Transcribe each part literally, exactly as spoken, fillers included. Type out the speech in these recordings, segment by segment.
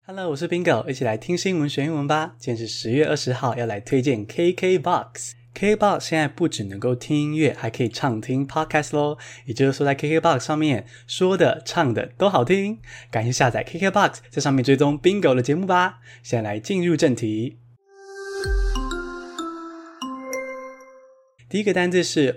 Hello， 我是 Bingo， 一起來聽新聞學英文吧。今天是十月二十號，要來推薦 K K Box。K K Box 現在不只能夠聽音樂，還可以暢聽 Podcast 咯。也就是說，在 K K Box 上面說的、唱的都好聽。趕緊下載 K K Box， 在上面追蹤 Bingo 的節目吧。現在來進入正題。第一個單字是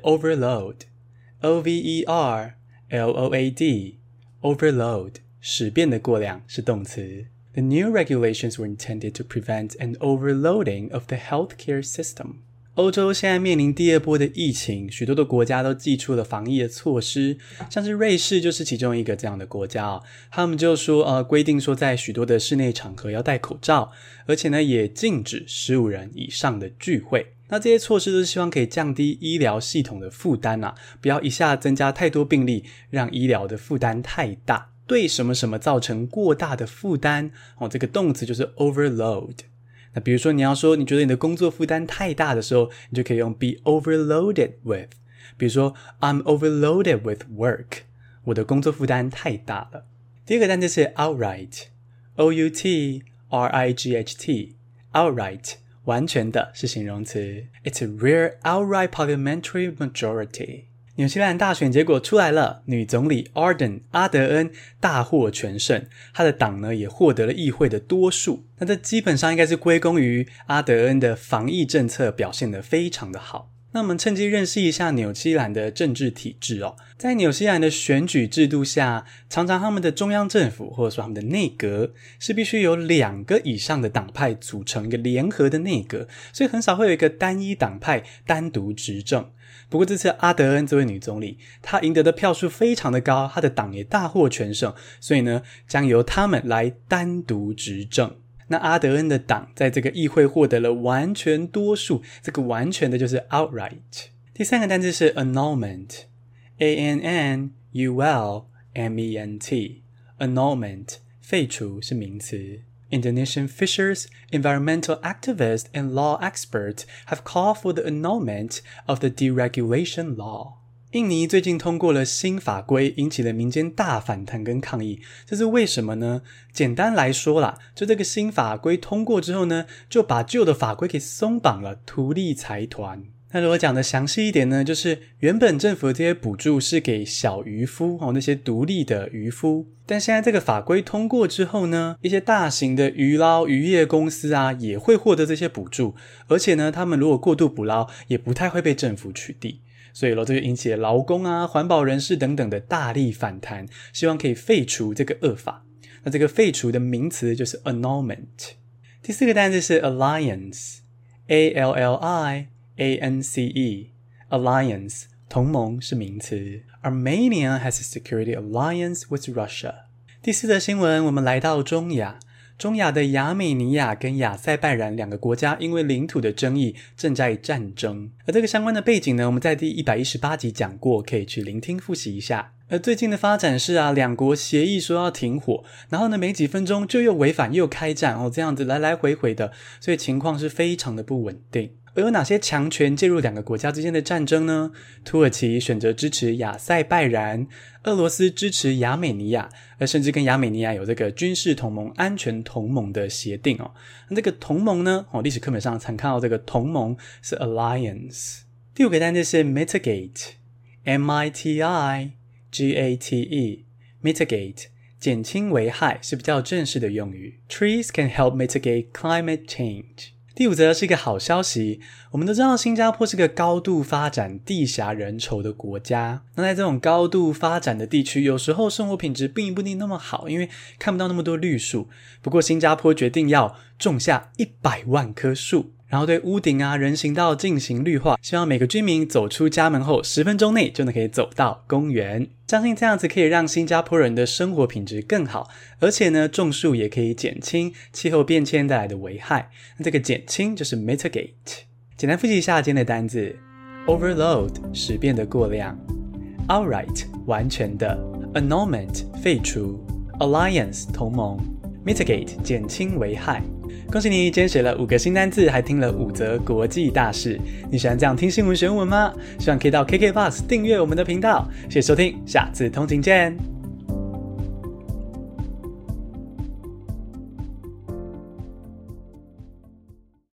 overload，O V E R L O A D，overload， 使變的過量是動詞。The new regulations were intended to prevent an overloading of the healthcare system. 歐洲現在面臨第二波的疫情，許多的國家都祭出了防疫的措施，像是瑞士就是其中一個這樣的國家哦。他們就說呃，規定說在許多的室內場合要戴口罩，而且呢也禁止十五人以上的聚會。那這些措施都是希望可以降低醫療系統的負擔啊，不要一下增加太多病例，讓醫療的負擔太大。對什麼什麼造成過大的負擔哦，這個動詞就是 overload。那比如說你要說你覺得你的工作負擔太大的時候，你就可以用 be overloaded with。比如說 I'm overloaded with work， 我的工作負擔太大了。第二個單詞是 outright， O U T R I G H T， outright 完全的是形容詞。It's a rare outright parliamentary majority。紐西蘭大選結果出來了，女總理 Ardern 阿德恩大獲全勝，她的黨呢也獲得了議會的多數。那這基本上應該是歸功於阿德恩的防疫政策表現得非常的好。那我們趁機認識一下紐西蘭的政治體制哦。在紐西蘭的選舉制度下，常常他們的中央政府或者說他們的內閣是必須有兩個以上的黨派組成一個聯合的內閣，所以很少會有一個單一黨派單獨執政。不過這次阿德恩這位女總理，她贏得的票數非常的高，她的黨也大獲全勝，所以呢將由他們來單獨執政。那阿德恩的黨在這個議會獲得了完全多數，這個完全的就是 outright。第三個單字是 annulment， A N N U L M E N T， annulment 廢除是名詞。Indonesian fishers, environmental activists, and law experts have called for the annulment of the deregulation law. 印尼最近通過了新法規，引起了民間大反彈跟抗議。這是為什麼呢？簡單來說啦，就這個新法規通過之後呢，就把舊的法規給鬆綁了，圖利財團。那如果講的詳細一點呢，就是原本政府的這些補助是給小漁夫哦，那些獨立的漁夫，但現在這個法規通過之後呢，一些大型的漁撈漁業公司啊也會獲得這些補助，而且呢，他們如果過度捕撈，也不太會被政府取締。所以咯，這就引起了勞工啊、環保人士等等的大力反彈，希望可以廢除這個惡法。那這個廢除的名詞就是 annulment。第四個單字是 alliance， A L L I A N C E， alliance 同盟是名詞。Armenia has a security alliance with Russia。第四則新聞，我們來到中亞。中亞的亞美尼亞跟亞塞拜然兩個國家因為領土的爭議正在戰爭，而這個相關的背景呢，我們在第一百一十八集講過，可以去聆聽複習一下。而最近的發展是啊，兩國協議說要停火，然後呢沒幾分鐘就又違反又開戰哦，這樣子來來回回的，所以情況是非常的不穩定。而有哪些強權介入兩個國家之間的戰爭呢？土耳其選擇支持亞塞拜然，俄羅斯支持亞美尼亞，而甚至跟亞美尼亞有這個軍事同盟、安全同盟的協定哦。那這個同盟呢，哦，歷史課本上常看到這個同盟是 alliance。第五個單字是 mitigate， M I T I G A T E， mitigate 減輕危害是比較正式的用語。Trees can help mitigate climate change。第五則是一個好消息，我們都知道新加坡是個高度發展、地狹人稠的國家。那在這種高度發展的地區，有時候生活品質並不一定那麼好，因為看不到那麼多綠樹。不過新加坡決定要種下一百萬棵樹，然後對屋頂啊、人行道進行綠化，希望每個居民走出家門後十分鐘內就能可以走到公園。相信這樣子可以讓新加坡人的生活品質更好，而且呢，種樹也可以減輕氣候變遷帶來的危害。那這個減輕就是 mitigate。簡單複習一下今天的單字 ：overload 使變的過量 ，outright 完全的 ，annulment 廢除 ，alliance 同盟 ，mitigate 減輕危害。恭喜你，今天學了五個新單字，還聽了五則國際大事。你喜歡這樣聽新聞學英文嗎？希望可以到 K K Box 訂閱我們的頻道。謝謝收聽，下次通勤見。